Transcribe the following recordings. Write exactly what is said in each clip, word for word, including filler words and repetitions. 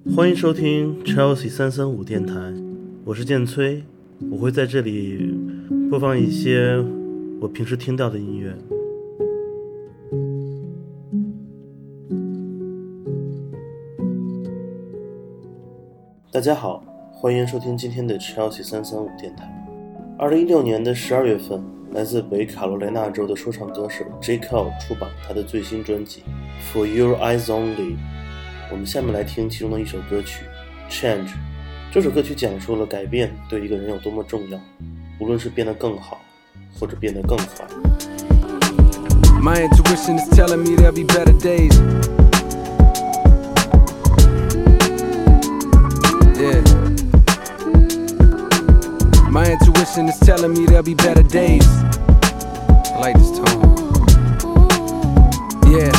欢迎收听 Chelsea 三三五电台，我是建崔，我会在这里播放一些我平时听到的音乐。大家好，欢迎收听今天的 Chelsea 三三五电台。二零一六年的十二月份，来自北卡罗来纳州的说唱歌手 J. Cole 出版他的最新专辑 For Your Eyes Only。 我们下面来听其中的一首歌曲 Change。 这首歌曲讲述了改变对一个人有多么重要，无论是变得更好或者变得更坏。 My intuition is telling me there'll be better days. Yeah. My intuition is telling me there'll be better days. I like this tone. Yeah.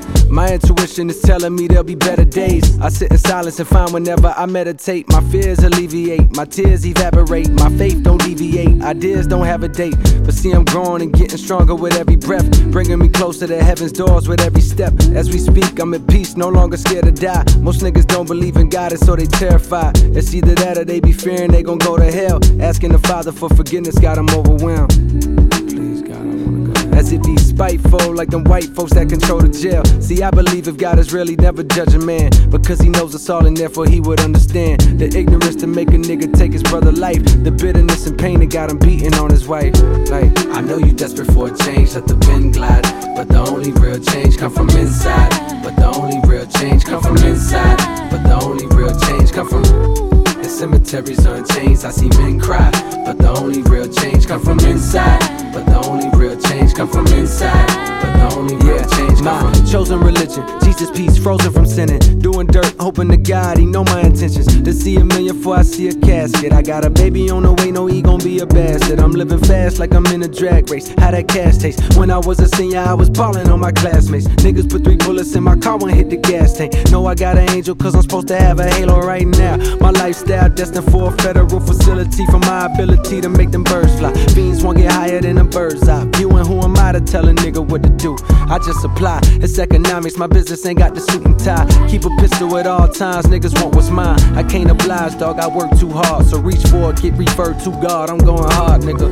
My intuition is telling me there'll be better days. I sit in silence and find whenever I meditate, my fears alleviate, my tears evaporate, my faith don't deviate, ideas don't have a date. But see, I'm growing and getting stronger with every breath, bringing me closer to heaven's doors with every step. As we speak, I'm at peace, no longer scared to die. Most niggas don't believe in God, and so they terrified. It's either that or they be fearing they gon' go to hell. Asking the Father for forgiveness got them overwhelmed. Please, God, I wanna go. As if he's spiteful, like them white folks that control the jail. See, I believe if God is really never judge a man, because he knows us all and therefore he would understand the ignorance to make a nigga take his brother life, the bitterness and pain that got him beating on his wife. Like, I know you desperate for a change, let the pen glide, but the only real change come from inside. But the only real change come from inside. But the only real change come from the cemeteries on chains. I see men cry, but the only real change come from inside. But the only real change come from inside. But the only real change come from chosen religion, Jesus peace, frozen from sinning, doing dirt, hoping to God he know my intentions. To see a million before I see a casket. I got a baby on the way, no he gon' be a bastard. I'm living fast like I'm in a drag race. How that cash taste? When I was a senior, I was ballin' on my classmates. Niggas put three bullets in my car when hit the gas tank. Know I got an angel cause I'm supposed to have a halo right now. My lifestyle destined for a federal facility, for my ability to make them birds fly. Fiends won't get higher than a bird's eye. You and who am I to tell a nigga what to do? I just supply, it's economics, my business ain't got the suit and tie. Keep a pistol at all times, niggas want what's mine. I can't oblige, dog, I work too hard. So reach for it, get referred to God, I'm going hard, nigga.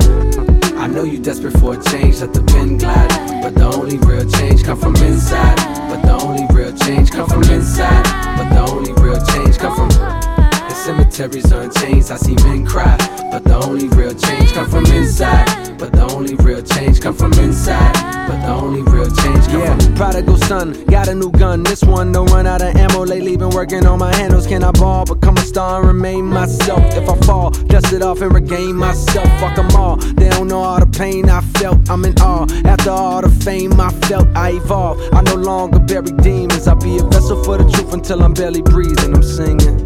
I know you desperate for a change, let the pen glide, but the only real change come from inside. But the only real change come from inside. But the only real change come from the cemeteries on chains. I see men cry, but the only real change come from inside. But the only real change come from inside. But the only real change come yeah, from prodigal son, got a new gun. This one don't run out of ammo. Lately been working on my handles. Can I ball, become a star and remain myself? If I fall, dust it off and regain myself. Fuck them all, they don't know all the pain I felt. I'm in awe, after all the fame I felt, I evolve. I no longer bury demons. I'll be a vessel for the truth until I'm barely breathing. I'm singing.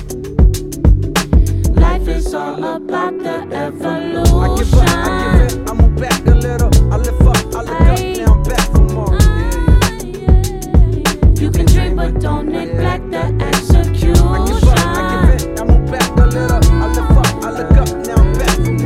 Life is all about the evolution. I give up, I give it, I move back a little. I lift up, I look up, now I'm back for more. You can dream but don't neglect the execution. I give up, I give it, I move back a little. I lift up, I look up, now I'm back for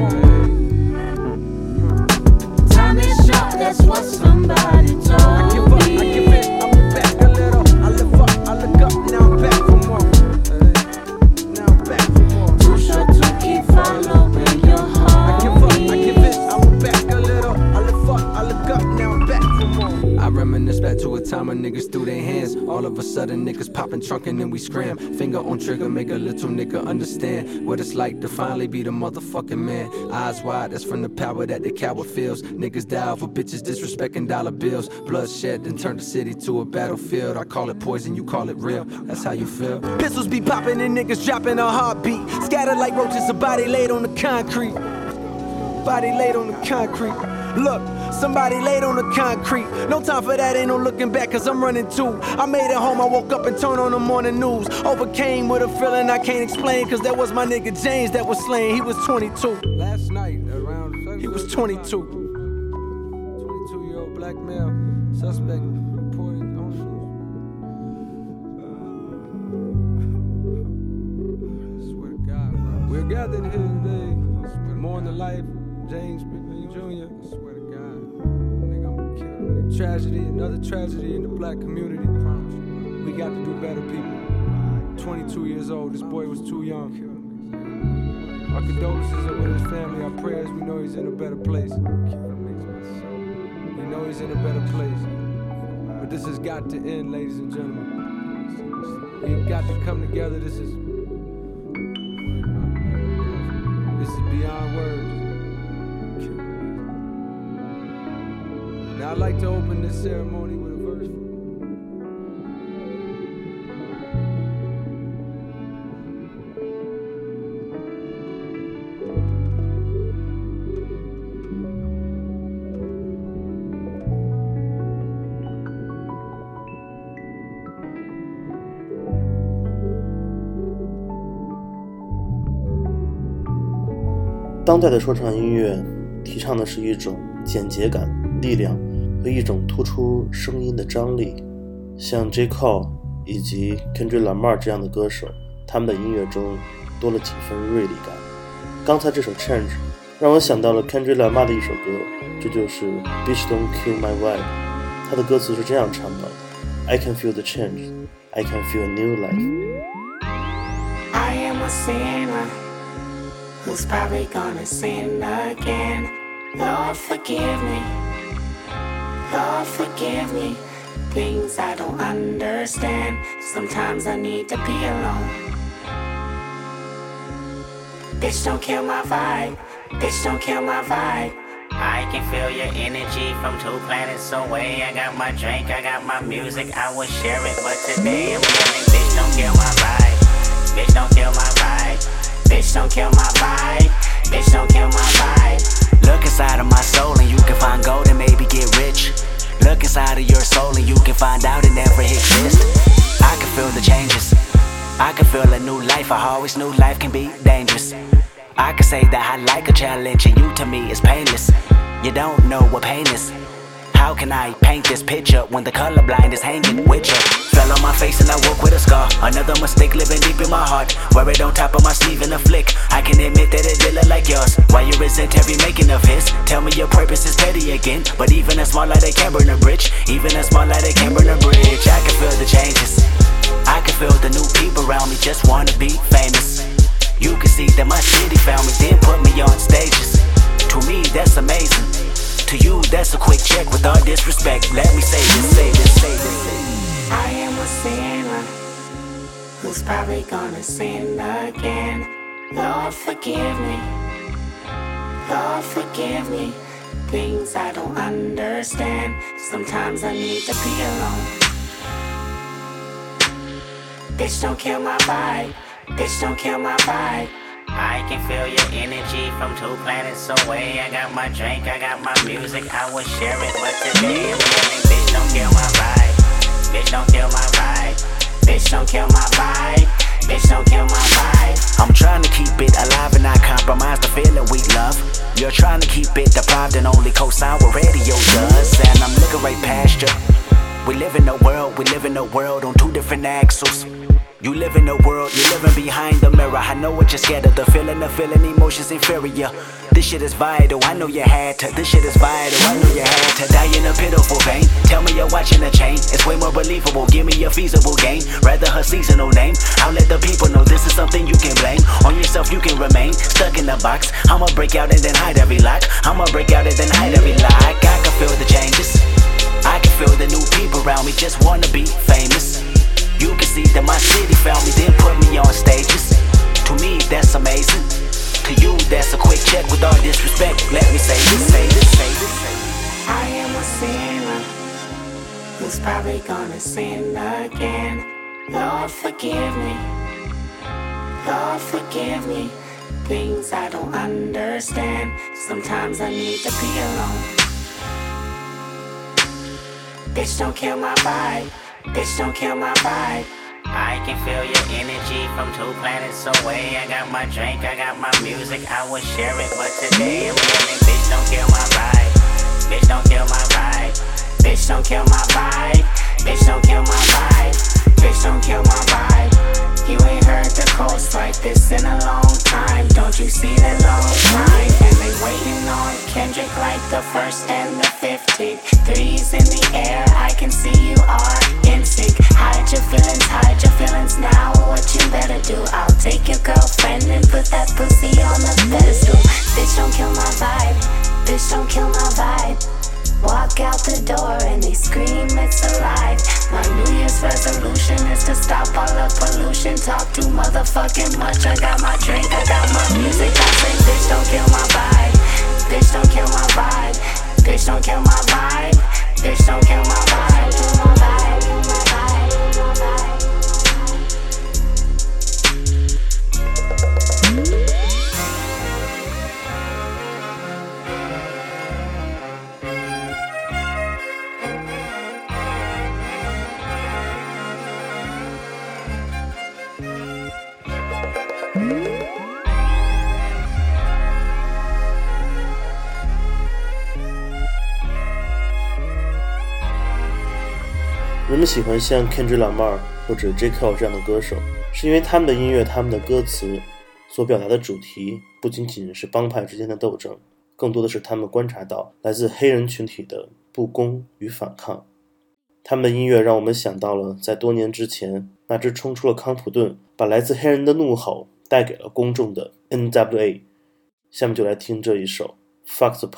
more. Time is short, that's what somebody told I give up, I give it, I move back a little. I lift up, I look up, now I'm back for more. Now I'm back for more. Too short to keep following your heart. I give up, I give it, I move back a little. I lift up, I look up, now I'm back for more. I reminisce back to a time when niggas threw their hands. All of a sudden niggas popping trunk and then we scram. Finger on trigger, make a little nigga understand what it's like to finally be the motherfucking man. Eyes wide, that's from the power that the coward feels. Niggas die over bitches disrespecting dollar bills. Bloodshed then turn the city to a battlefield. I call it poison, you call it real. That's how you feel. Pistols be popping and niggas dropping a heartbeat. Scattered like roaches, a body laid on the concrete. Body laid on the concrete. Look, somebody laid on the concrete. No time for that, ain't no looking back, cause I'm running too. I made it home, I woke up and turned on the morning news. Overcame with a feeling I can't explain, cause that was my nigga James that was slain. He was twenty-two. Last night, around he was twenty-two. twenty-two year old black male suspect reported on news. I swear to God, bro. We're gathered here today. Mourn the life of James McLean Junior I swear to God. Nigga, I'm gonna kill him. Tragedy, another tragedy in the black community. We got to do better, people. twenty-two years old. This boy was too young. Our condolences are with his family. Our prayers, we know he's in a better place. We know he's in a better place. But this has got to end, ladies and gentlemen. We've got to come together. This is This is beyond words. Now I'd like to open this ceremony with a verse. 当代的说唱音乐提倡的是一种简洁感、力量和一种突出声音的张力。像 J. Cole 以及 Kendrick Lamar 这样的歌手，他们的音乐中多了几分锐利感。刚才这首 Change 让我想到了 Kendrick Lamar 的一首歌，这就是 Bitch Don't Kill My Vibe。 他的歌词是这样唱的： I can feel the change, I can feel a new life. I am a sinner who's probably gonna sin again. Lord, forgive me. Lord, forgive me. Things I don't understand. Sometimes I need to be alone. Bitch, don't kill my vibe. Bitch, don't kill my vibe. I can feel your energy from two planets away. I got my drink, I got my music, I would share it. But today I'm yelling, bitch, don't kill my vibe. Bitch, don't kill my vibe. Bitch, don't kill my vibe. Bitch, don't kill my vibe. Look inside of my soul and you can find gold and maybe get rich. Look inside of your soul and you can find out it never exists. I can feel the changes. I can feel a new life. I always knew life can be dangerous. I can say that I like a challenge and you to me is painless. You don't know what pain is. How can I paint this picture when the colorblind is hanging with you? Fell on my face and I woke with a scar. Another mistake living deep in my heart. Wear it on top of my sleeve in a flick. I can admit that it did look like yours. Why you resent every making of his? Tell me your purpose is petty again. But even a small light they can't burn a bridge. Even a small light they can't burn a bridge. I can feel the changes. I can feel the new people around me just wanna be famous. You can see that my city found me, then put me on stages. To me, that's amazing. To you, that's a quick check. With all disrespect, let me say this, say this, say this, say this. I am a sinner who's probably gonna sin again. Lord, forgive me. Lord, forgive me. Things I don't understand. Sometimes I need to be alone. Bitch, don't kill my vibe. Bitch, don't kill my vibe. I can feel your energy from two planets away. I got my drink, I got my music, I would share it. But today I'm yelling, bitch, don't kill my vibe. Bitch, don't kill my vibe. Bitch, don't kill my vibe. Bitch, don't kill my vibe. I'm trying to keep it alive and not compromise the feeling we love. You're trying to keep it deprived and only co-sign what radio does. And I'm looking right past you. We live in a world, we live in a world on two different axles. You live in a world, you're living behind the mirror. I know what you're scared of, the feeling, the feeling, emotions inferior. This shit is vital, I know you had to. This shit is vital, I know you had to. Die in a pitiful pain, tell me you're watching a chain. It's way more believable, give me a feasible game. Rather her seasonal name, I'll let the people know this is something you can blame. On yourself you can remain, stuck in the box. I'ma break out and then hide every lock. I'ma break out and then hide every lock. I can feel the changes, I can feel the new people around me just wanna be famous. You can see that my city found me, then put me on stages. To me, that's amazing. To you, that's a quick check. With all disrespect, let me say this, say this, say this, say this. I am a sinner who's probably gonna sin again. Lord, forgive me. Lord, forgive me. Things I don't understand. Sometimes I need to be alone. Bitch, don't kill my vibe. Bitch, don't kill my vibe. I can feel your energy from two planets away. I got my drink, I got my music, I would share it. But today I'm yelling, bitch, don't kill my vibe. Bitch, don't kill my vibe. Bitch, don't kill my vibe. Bitch, don't kill my vibe. Bitch, don't kill my vibe. You ain't heard the coast like this in a long time. Don't you see that long time? And they waiting on Kendrick like the first and the fifteenth. Threes in the air, I can see you are in sync. Hide your feelings, hide your feelings now. What bitch don't kill my vibe. Walk out the door and they scream it's alive. My New Year's resolution is to stop all the pollution. Talk too motherfucking much. I got my drink, I got my music. I say bitch don't kill my vibe. Bitch don't kill my vibe. Bitch don't kill my vibe. Bitch don't kill my vibe. Kill my vibe. Kill my vibe. Kill my vibe. 人们喜欢像 Kendrick Lamar 或者 J. Cole 这样的歌手，是因为他们的音乐、他们的歌词所表达的主题不仅仅是帮派之间的斗争，更多的是他们观察到来自黑人群体的不公与反抗。他们的音乐让我们想到了在多年之前那支冲出了康普顿，把来自黑人的怒吼带给了公众的 N W A。 下面就来听这一首 Fuck the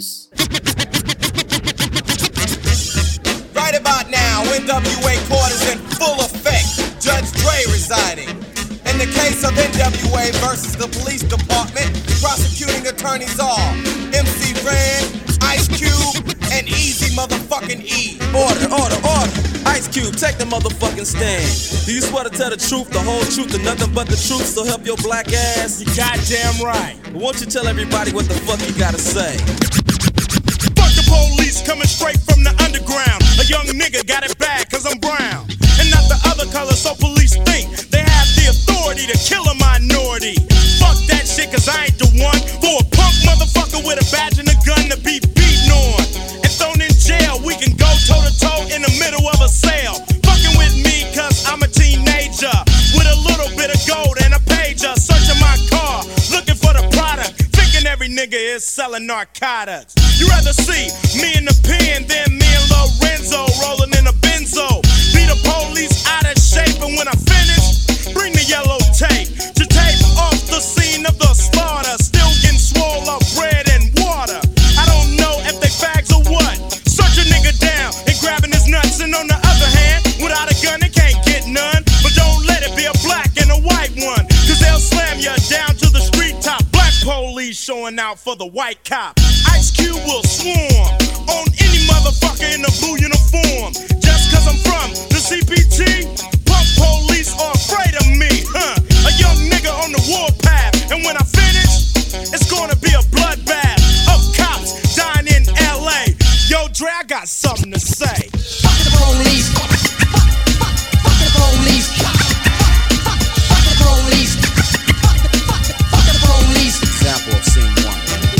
Police。Right about now, N W A court is in full effect. Judge Dre residing. In the case of N W A versus the police department, prosecuting attorneys are M C Ren, Ice Cube, and Easy motherfucking E. Order, order, order. Ice Cube, take the motherfucking stand. Do you swear to tell the truth, the whole truth, and nothing but the truth, so help your black ass? You goddamn right. Won't you tell everybody what the fuck you gotta say? The police coming straight from the underground. A young nigga got it bad cause I'm brown and not the other color, so police think they have the authority to kill a minority. Fuck that shit cause I ain't the one for a punk motherfucker with a badge and a gun to be beaten on and thrown in jail. We can go toe to toe in the middle of a sale. Fucking with me cause I'm a teenager with a little bit of gold and a pager, searching my car looking for the product, thinking every nigga is selling narcotics. You rather see me in the pen than me and Lorenzo rolling in a benzo. Be the police out of shape, and when I finish, bring the yellow tape to tape off the scene of the slaughter. Still getting swole up bread and water. I don't know if they fags or what. Search a nigga down and grabbing his nuts, and on the other hand, without a gun they can't get none. But don't let it be a black and a white one, cause they'll slam you down to the street top. Black police showing out for the white cop. Ice Cube will swarm on any motherfucker in a blue uniform. Just cause I'm from the C P T, punk police are afraid of me, huh? A young nigga on the warpath, and when I finish, it's gonna be a bloodbath of cops dying in L A. Yo, Dre, I got something to say. Fuck the police. Fuck the police. Fuck the police. Fuck the police. Example of scene one.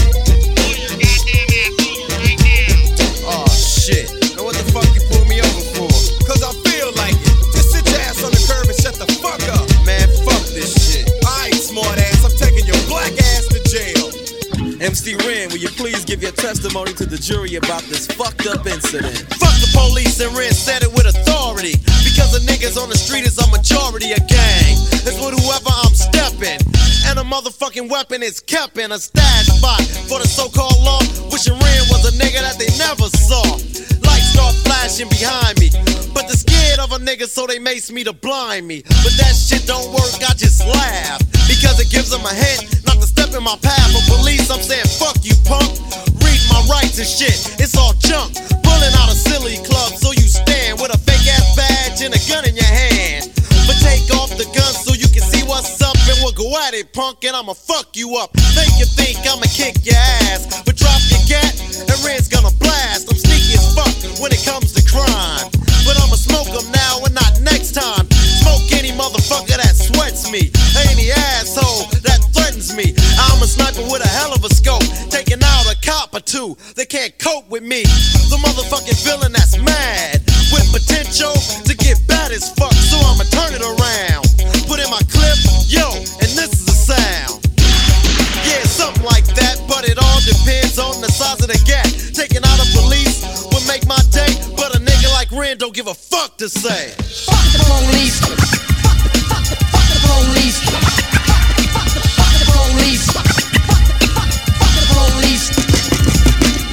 Shit. Now what the fuck you pull me over for? Cause I feel like it. Just sit your ass on the curb and shut the fuck up. Man, fuck this shit. Alright, smart ass, I'm taking your black ass to jail. M C Ren, will you please give your testimony to the jury about this fucked up incident? Fuck the police, and Ren said it with authority. Because the niggas on the street is a majority of gang. It's with whoever I'm stepping. And a motherfucking weapon is kept in a stash spot for the so-called law. Wishing Ren was a nigga that they never saw. Lights start flashing behind me, but they're scared of a nigga, so they mace me to blind me. But that shit don't work, I just laugh, because it gives them a hint not to step in my path. For police, I'm saying fuck you, punk. Read my rights and shit, it's all junk. Pulling out a silly club, so you stand with a fake ass badge and a gun in your hand. But take off the gun so you can see what's up, and we'll go at it, punk, and I'ma fuck you up. Think you think I'ma kick your ass, but drop your gat, and Red's gonna blast. I'm sneaky as fuck when it comes to crime, but I'ma smoke them now and not next time. Smoke any motherfucker that sweats me, any asshole that threatens me. I'm a sniper with a hell of a scope, taking out a cop or two. They can't cope with me. The motherfucking villain that's mad, with potential to get bad as fuck, so I'ma turn it around. Put in my clip, yo, and this is the sound. Yeah, something like that, but it all depends on the size of the gap. Taking out a police would make my day, but a nigga like Ren don't give a fuck to say. Fuck the police. Fuck the, fuck the, fuck the police. Fuck the, fuck the police. Fuck the police.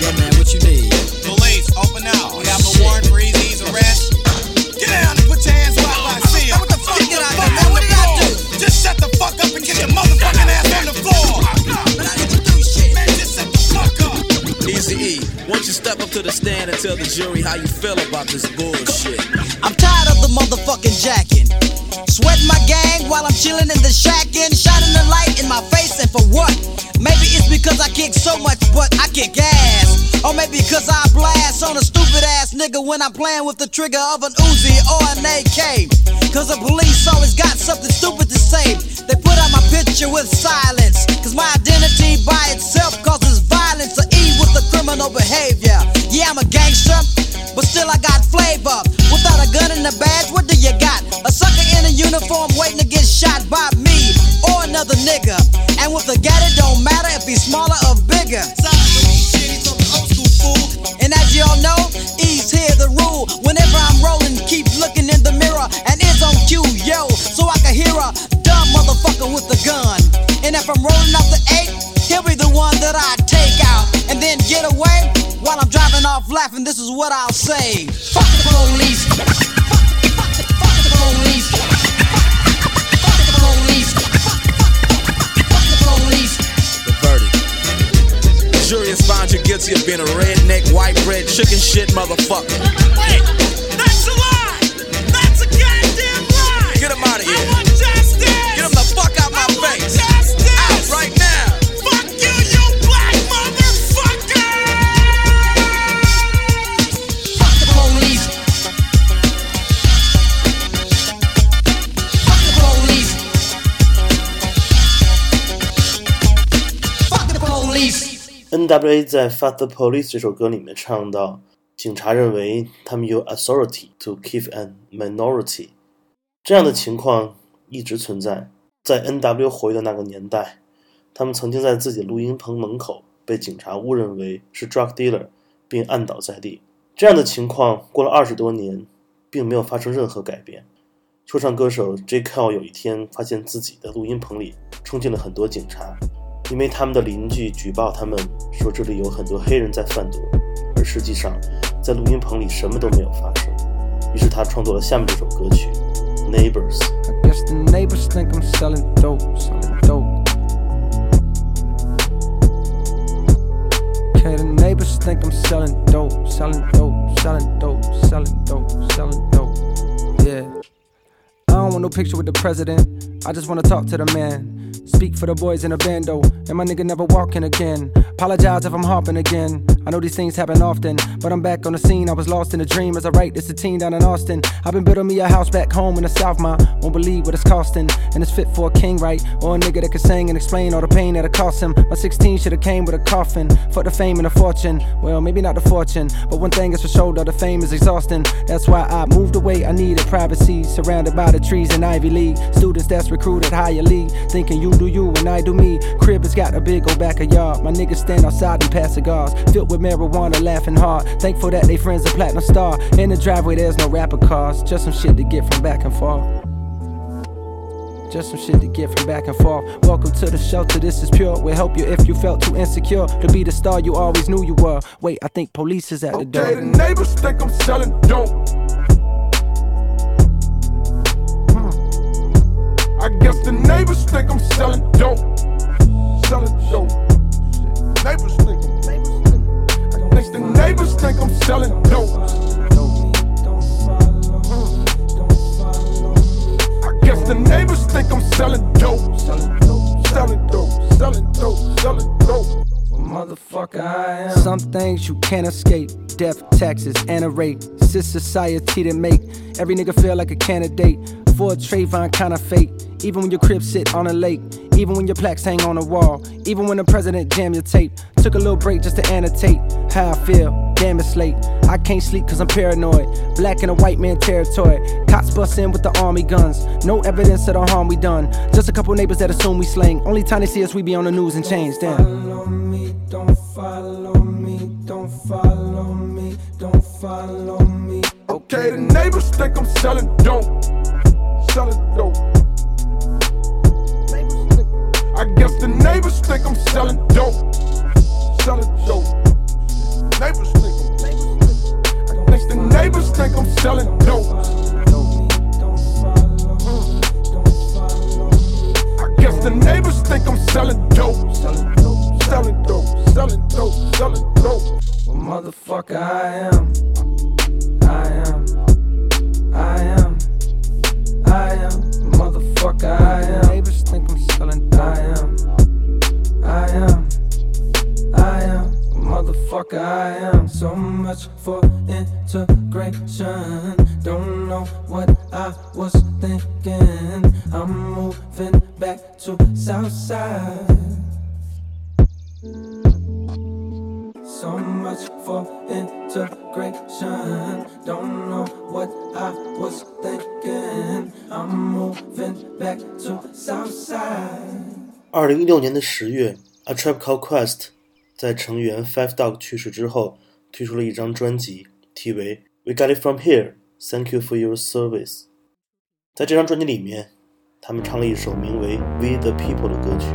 Yo, man, what you need? Police, open up. We have a warrant for Easy's arrest. Get down and put your hands where I see them. What the fuck did I do, man? What did I do? Just shut the fuck up and get your motherfucking ass on the floor. But I didn't do shit. Man, just shut the fuck up. Easy E, won't you step up to the stand and tell the jury how you feel about this bullshit? I'm tired of the motherfucking jacking. Sweating my gang while I'm chilling in the shack and shining the light in my face, and for what? Maybe it's because I kick so much, but I kick ass. Or maybe because I blast on a stupid ass nigga when I'm playing with the trigger of an Uzi or an A K. Cause the police always got something stupid to say. They put out my picture with silence. Cause my identity by itself causes violence. Or E with the criminal behavior. Yeah, I'm a gangster, but still I got flavor. Without a gun and a badge, what do you got? A sucker in a uniform waiting to get shot by me or another nigga. And with a gat, it don't matter if he's smaller or bigger. And as y'all know, E's here the rule. Whenever I'm rolling, keep looking in the mirror and it's on cue, yo, so I can hear a dumb motherfucker with a gun. And if I'm rolling up the eight, he'll be the one that I take out and then get away while I'm driving off laughing. This is what I'll say: fuck the police. Fuck the police. Fuck the police. Fuck the police. The verdict. The jury has found you guilty of being a redneck, white bread, chicken shit motherfucker. Wait, that's a lie. That's a goddamn lie. Get him out of here. I want justice. Get him the fuck out my I want face. justice. Out right now. Fuck you, you black motherfucker. Fuck the police. Fuck the police. Fuck the police. N W A 在 Fuck the Police 这首歌里面唱到，警察认为他们有 authority to keep a minority， 这样的情况一直存在。在 N W 活跃的那个年代，他们曾经在自己录音棚门口被警察误认为是 drug dealer， 并按倒在地。这样的情况过了二十多年，并没有发生任何改变。说唱歌手 J. Cole 有一天发现自己的录音棚里冲进了很多警察，因为他们的邻居举报他们说这里有很多黑人在贩毒，而实际上在录音棚里什么都没有发生。于是他创作了下面这首歌曲 Neighbors。 I guess the neighbors think I'm selling dope, selling dope. Okay, the neighbors think I'm selling dope, selling dope, selling dope, selling dope, selling dope. Yeah. I don't want no picture with the president. I just wanna talk to the man. Speak for the boys in the bando, and my nigga never walking again. Apologize if I'm harping again. I know these things happen often, but I'm back on the scene. I was lost in a dream as I write this a teen down in Austin. I've been building me a house back home in the South, ma. Won't believe what it's costing, and it's fit for a king, right? Or a nigga that can sing and explain all the pain that it cost him. My sixteen should've came with a coffin. Fuck the fame and the fortune. Well, maybe not the fortune, but one thing is for sure, though, the fame is exhausting. That's why I moved away. I needed privacy, surrounded by the trees in Ivy League. Students that's recruited higher league, thinking you do you and I do me. Crib has got a big old backyard. My niggas stand outside and pass cigars, filled with marijuana, laughing hard. Thankful that they friends a platinum star. In the driveway there's no rapper cars, just some shit to get from back and forth. Just some shit to get from back and forth. Welcome to the shelter, this is pure. We'll help you if you felt too insecure to be the star you always knew you were. Wait, I think police is at the door. Okay, the neighbors think I'm selling dope. I guess the neighbors think I'm selling dope. Selling dope. Neighbors think I'm I think the neighbors think I'm selling dope. I guess the neighbors think I'm selling dope. Selling dope. Selling dope. Selling dope. Selling dope. Motherfucker, I am. Some things you can't escape. Death, taxes, and a rate. It's this society that make every nigga feel like a candidate for a Trayvon kind of fate. Even when your crib sit on a lake, even when your plaques hang on a wall, even when the president jam your tape. Took a little break just to annotate how I feel. Damn, it's late. I can't sleep cause I'm paranoid. Black in a white man territory. Cops bust in with the army guns. No evidence of the harm we done. Just a couple neighbors that assume we slang. Only time they see us we be on the news and change. Damn. Follow me, don't follow me, don't follow me, don't follow me. Okay, the neighbors think I'm selling dope. Selling dope. I guess the neighbors think I'm selling dope. Selling dope. neighbors think I'm, next the neighbors think I'm selling dope. I guess the neighbors think I'm selling dope. Selling dope, selling dope, selling dope, selling dope. Well, motherfucker, I am. I am. I am. I am. Motherfucker, I am. Neighbors think I'm selling dope. I am. I am. I am. Motherfucker, I am. So much for integration. Don't know what I was thinking. I'm moving back to Southside. So much for integration. Don't know what I was thinking. I'm moving back to Southside. 二零一六年的十月 A Tribe Called Quest 在成员 Five Dog 去世之后推出了一张专辑，题为 We Got It From Here Thank You For Your Service。 在这张专辑里面，他们唱了一首名为 We The People 的歌曲。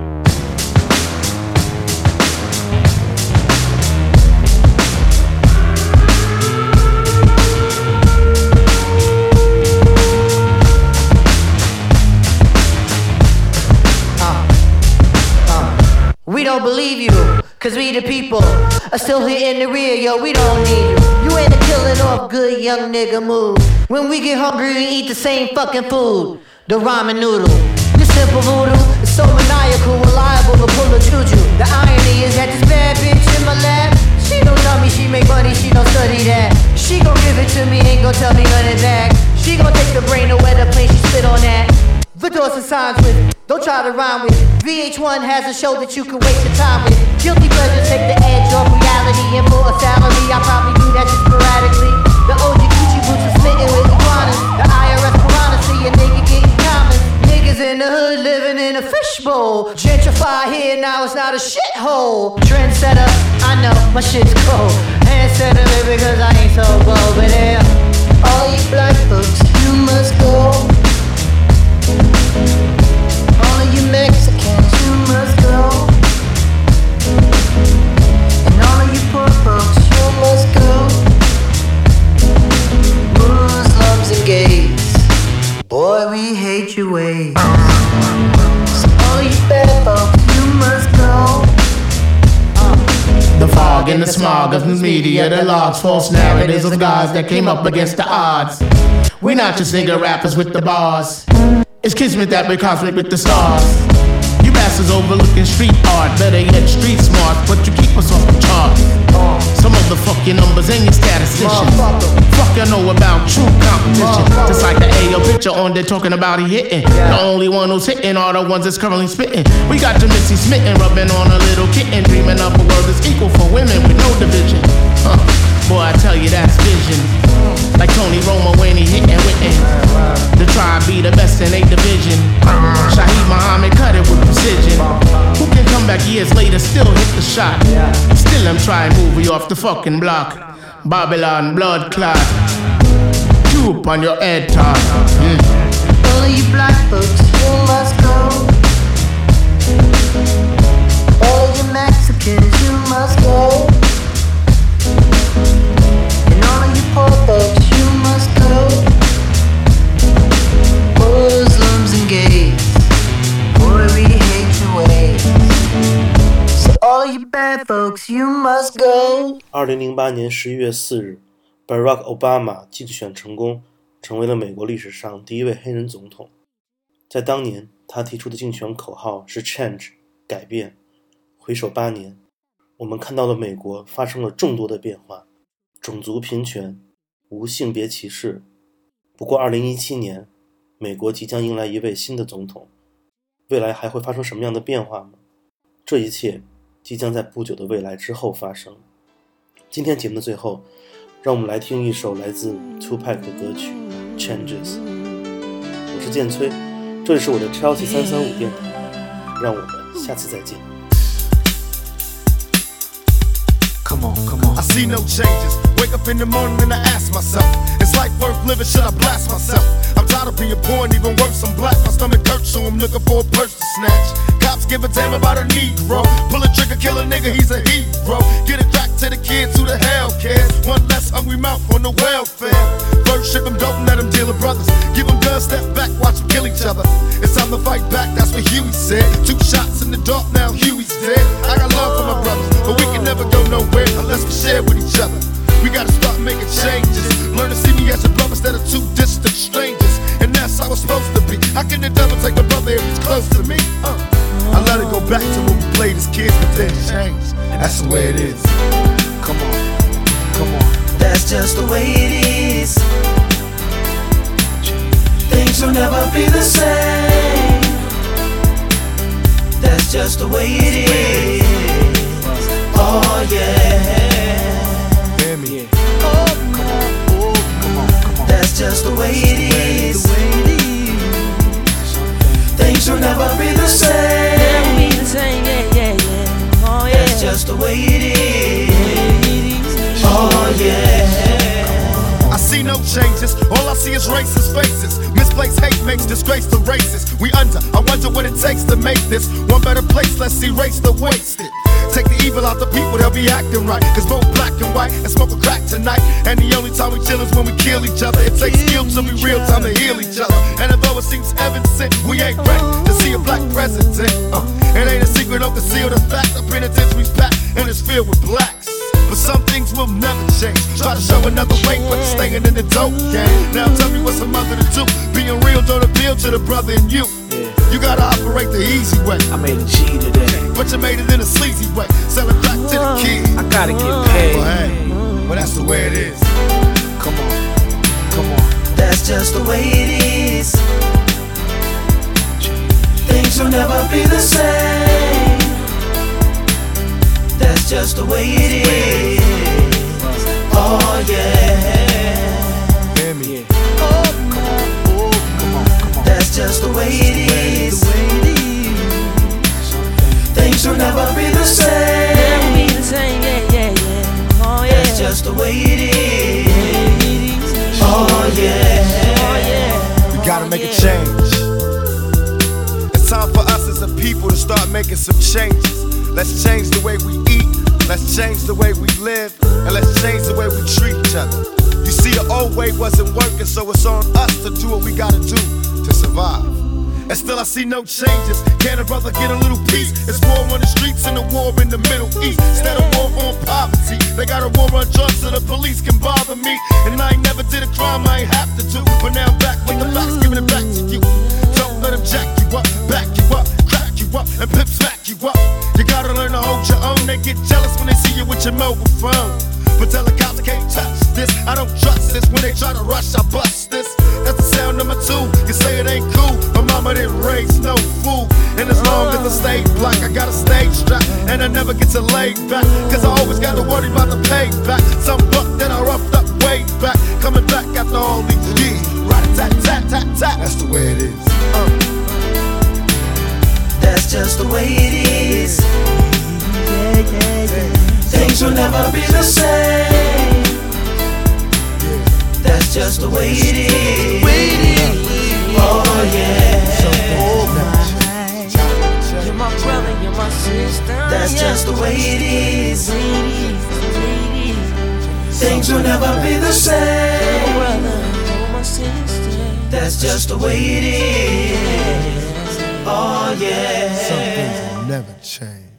We don't believe you, cause we the people are still here in the rear, yo, we don't need you. You ain't a killing off good young nigga move. When we get hungry, we eat the same fucking food, the ramen noodle. Your simple voodoo is so maniacal, reliable to pull a choo-choo. The irony is that this bad bitch in my lap, she don't tell me she make money, she don't study that. She gon' give it to me, ain't gon' tell me none of that. She gon' take the brain to where the plane, she spit on that. The doors and signs with, don't try to rhyme with. V H one has a show that you can waste your time with. Guilty pleasure take the edge off reality. And for a salary, I probably do that just sporadically. The O G Gucci boots are smitten with iguanas. The I R S piranha see a nigga getting common. Niggas in the hood living in a fishbowl. Gentrify here, now it's not a shithole. Trendsetter, I know, my shit's cold. Handsetter, baby, cause I ain't so bold. But yeah, all you black folks, you must go. All of you Mexicans, you must go. And all of you poor folks, you must go. Muslims and gays, boy, we hate your ways. So all of you bad folks, you must go. The fog and the smog of the media, the logs, false narratives of gods that came up against the odds. We're not just nigga rappers with the bars. It's kismet that we're cosmic with the stars. You bastards overlooking street art, better yet street smart, but you keep us off the charts. Some of the fuck your numbers and your statisticians. Fuck you know about true competition. Just like the A O picture on there talking about he hitting. The only one who's hitting are the ones that's currently spitting. We got your Missy smitten, rubbing on a little kitten, dreaming up a world that's equal for women with no division. Huh. Boy, I tell you that's vision. Like Tony Romo when he hitting Whitten. The tribe be the best in eight division. Shaheed Muhammad cut it with precision. Who can come back years later, still hit the shot? Still I'm trying to move you off the fucking block. Babylon blood clot. Tube on your head top. Mm. All of you black folks, you must go. All of you Mexicans, you must go. And all of you poor folks, you must go. Muslims and gays, boy, we hate your ways. So all of you bad folks, you must go. 二零零八年十一月四日 Barack Obama 竞选成功，成为了美国历史上第一位黑人总统。在当年，他提出的竞选口号是 Change 改变。回首八年，我们看到了美国发生了众多的变化，种族平权，无性别歧视。不过二零一七年，美国即将迎来一位新的总统，未来还会发生什么样的变化吗？这一切即将在不久的未来之后发生。今天节目的最后，让我们来听一首来自 Tupac 的歌曲 Changes。 我是建崔，这里是我的 Chelsea 三三五电台，让我们下次再见。 Come on, come on. I see no changes. Wake up in the morning and I ask myself, is life worth living? Should I blast myself? I'm tired of being poor and even worse, I'm black. My stomach hurts, so I'm looking for a purse to snatch. Cops give a damn about a Negro. Pull a trigger, kill a nigga, he's a hero. Get it cracked to the kids who the hell cares. One less hungry mouth on the welfare. First ship them, don't let them deal with brothers. Give them guns, step back, watch them kill each other. It's time to fight back, that's what Huey said. Two shots in the dark, now Huey's dead. I got love for my brothers, but we can never go nowhere unless we share with each other. We gotta start making changes. Learn to see me as a brother instead of two distant strangers. And that's how it's supposed to be. How can the devil take a brother if he's close to me? Uh. I let it go back to when we played as kids, but then changed. That's the way it is. Come on, come on. That's just the way it is. Things will never be the same. That's just the way it is. Oh yeah. Hear me. Oh, come on, oh, come on, come on. That's just the way it is. Things will never be the same. Never be the same, yeah, yeah, yeah. Oh yeah. That's just the way it is. Oh yeah. I see no changes, all I see is racist faces. Misplaced hate makes disgrace to races. We under, I wonder what it takes to make this one better place. Let's erase the wasted. Take the evil out the people, they'll be acting right. Cause both black and white and smoke a crack tonight. And the only time we chill is when we kill each other. It takes skill to be real time to heal each other. And although it seems evident, we ain't ready to see a black president. Uh, it ain't a secret, don't conceal the fact. The penitentiary's packed and it's filled with blacks. But some things will never change. Try to show another way, but it's staying in the dope game. Now tell me what's a mother to do. Being real don't appeal to the brother in you. You gotta operate the easy way. I made a G today, but you made it in a sleazy way. Sell it back to the kid. I gotta get paid. Well, hey, well that's the way it is. Come on, come on. That's just the way it is. Things will never be the same. That's just the way it is. Oh yeah. Hear me. Oh, come on, oh, come on, come on. That's just the way it is. Things will never be the same. Never be the same, yeah, yeah, yeah. Oh yeah. That's just the way it is. Oh yeah. Oh yeah. We gotta make a change. It's time for us as a people to start making some changes. Let's change the way we eat, let's change the way we live, and let's change the way we treat each other. You see, the old way wasn't working, so it's on us to do what we gotta do to survive. And still I see no changes. Can a brother get a little peace? It's war on the streets and a war in the Middle East. Instead of war on poverty, they got a war on drugs so the police can bother me. And I ain't never did a crime I ain't have to do, but now I'm back with the facts, giving it back to you. Don't let them jack you up, back you up, crack you up, and pimp smack you up. You gotta learn to hold your own. They get jealous when they see you with your mobile phone. But tell the cops I can't touch this. I don't trust this. When they try to rush, I bust this. That's the sound number two. You say it ain't cool, but mama didn't raise no fool. And as long as I stay black, I got a stage strap, and I never get to lay back. Cause I always got to worry about the payback. Some buck that I roughed up way back, coming back after all these years. Right tat tat tat tat. That's the way it is. Uh. That's just the way it is. Yeah, yeah, yeah. Things will never be the same. That's just the way it is. Oh yeah. You're my brother, you're my sister. That's just the way it is. Things will never be the same. That's just the way it is. Oh yeah. Some things will never change.